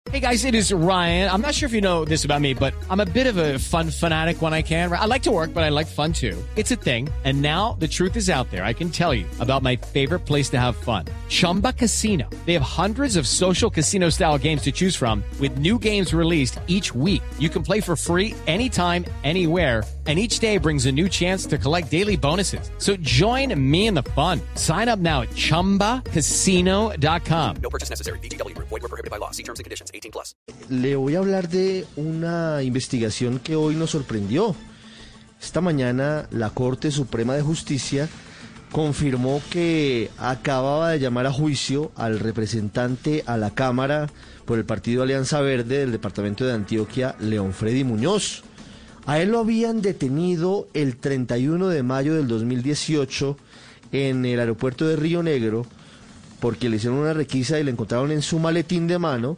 Hey guys, it is Ryan. I'm not sure if you know this about me, but I'm a bit of a fun fanatic when I can. I like to work, but I like fun too. It's a thing. And now the truth is out there. I can tell you about my favorite place to have fun. Chumba Casino. They have hundreds of social casino style games to choose from with new games released each week. You can play for free anytime, anywhere. And each day brings a new chance to collect daily bonuses. So join me in the fun. Sign up now at ChumbaCasino.com. No purchase necessary. VGW Group. Void where prohibited by law. See terms and conditions. 18+. Le voy a hablar de una investigación que hoy nos sorprendió. Esta mañana la Corte Suprema de Justicia confirmó que acababa de llamar a juicio al representante a la Cámara por el Partido Alianza Verde del departamento de Antioquia, León Freddy Muñoz. A él lo habían detenido el 31 de mayo del 2018 en el aeropuerto de Río Negro porque le hicieron una requisa y le encontraron en su maletín de mano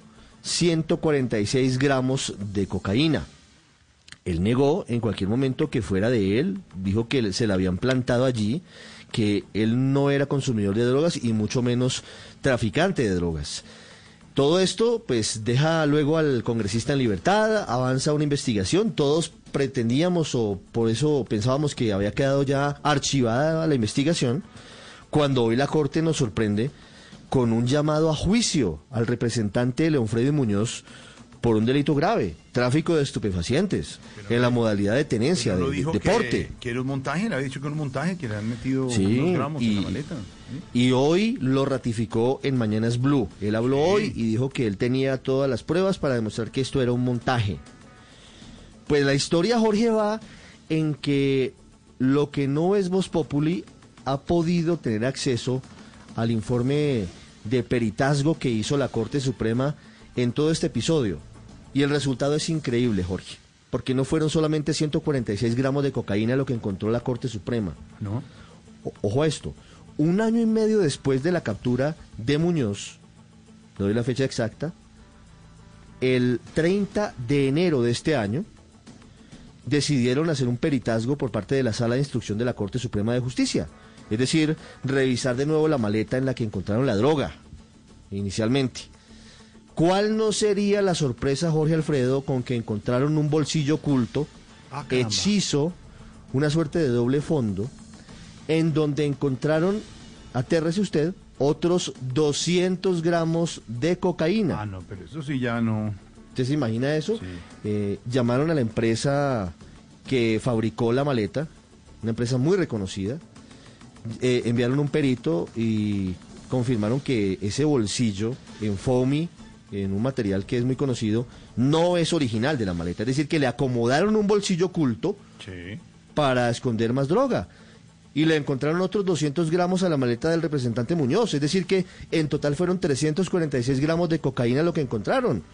146 gramos de cocaína. Él negó en cualquier momento que fuera de él, dijo que se la habían plantado allí, que él no era consumidor de drogas y mucho menos traficante de drogas. Todo esto pues deja luego al congresista en libertad, avanza una investigación, todos pretendíamos o por eso pensábamos que había quedado ya archivada la investigación, cuando hoy la Corte nos sorprende con un llamado a juicio al representante León Freddy Muñoz por un delito grave, tráfico de estupefacientes, en la modalidad de tenencia, de deporte. Que era un montaje, le había dicho que era un montaje, que le han metido unos gramos en la maleta. ¿Sí? Y hoy lo ratificó en Mañanas Blue. Él habló hoy y dijo que él tenía todas las pruebas para demostrar que esto era un montaje. Pues la historia, Jorge, va en que lo que no es Voz Populi ha podido tener acceso al informe de peritazgo que hizo la Corte Suprema en todo este episodio. Y el resultado es increíble, Jorge, porque no fueron solamente 146 gramos de cocaína lo que encontró la Corte Suprema. ¿No? Ojo a esto, 1 año y medio después de la captura de Muñoz, le doy la fecha exacta, el 30 de enero de este año, decidieron hacer un peritazgo por parte de la Sala de Instrucción de la Corte Suprema de Justicia. Es decir, revisar de nuevo la maleta en la que encontraron la droga, inicialmente. ¿Cuál no sería la sorpresa, Jorge Alfredo, con que encontraron un bolsillo oculto, hechizo, una suerte de doble fondo, en donde encontraron, atérrese usted, otros 200 gramos de cocaína? Ah, no, pero eso sí ya no... ¿Usted se imagina eso? Sí. Llamaron a la empresa que fabricó la maleta, una empresa muy reconocida, enviaron un perito y confirmaron que ese bolsillo en foamy, en un material que es muy conocido, no es original de la maleta. Es decir, que le acomodaron un bolsillo oculto para esconder más droga. Y le encontraron otros 200 gramos a la maleta del representante Muñoz. Es decir, que en total fueron 346 gramos de cocaína lo que encontraron.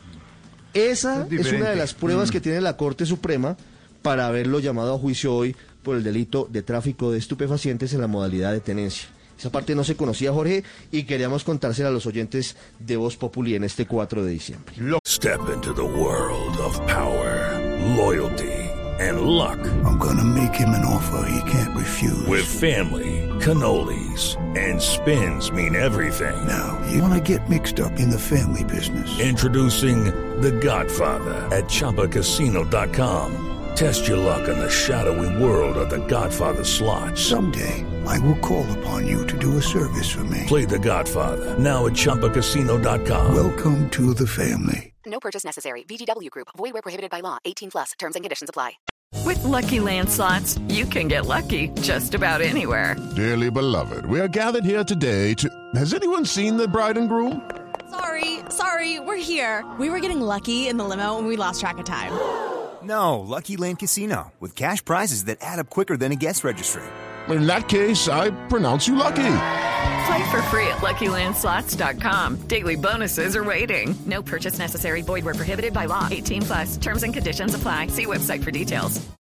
Esa es una de las pruebas que tiene la Corte Suprema para haberlo llamado a juicio hoy por el delito de tráfico de estupefacientes en la modalidad de tenencia. Esa parte no se conocía, Jorge, y queríamos contársela a los oyentes de Voz Populi en este 4 de diciembre. Step into the world of power, loyalty, and luck. I'm gonna make him an offer he can't refuse. With family, cannolis, and spins mean everything. Now, you wanna get mixed up in the family business. Introducing The Godfather at ChumbaCasino.com. Test your luck in the shadowy world of The Godfather slot. Someday, I will call upon you to do a service for me. Play The Godfather, now at ChumbaCasino.com. Welcome to the family. No purchase necessary. VGW Group. Void where prohibited by law. 18+. Terms and conditions apply. With Lucky Land Slots, you can get lucky just about anywhere. Dearly beloved, we are gathered here today to... Has anyone seen the bride and groom? Sorry, we're here. We were getting lucky in the limo and we lost track of time. No, Lucky Land Casino, with cash prizes that add up quicker than a guest registry. In that case, I pronounce you lucky. Play for free at LuckyLandSlots.com. Daily bonuses are waiting. No purchase necessary. Void where prohibited by law. 18+. Terms and conditions apply. See website for details.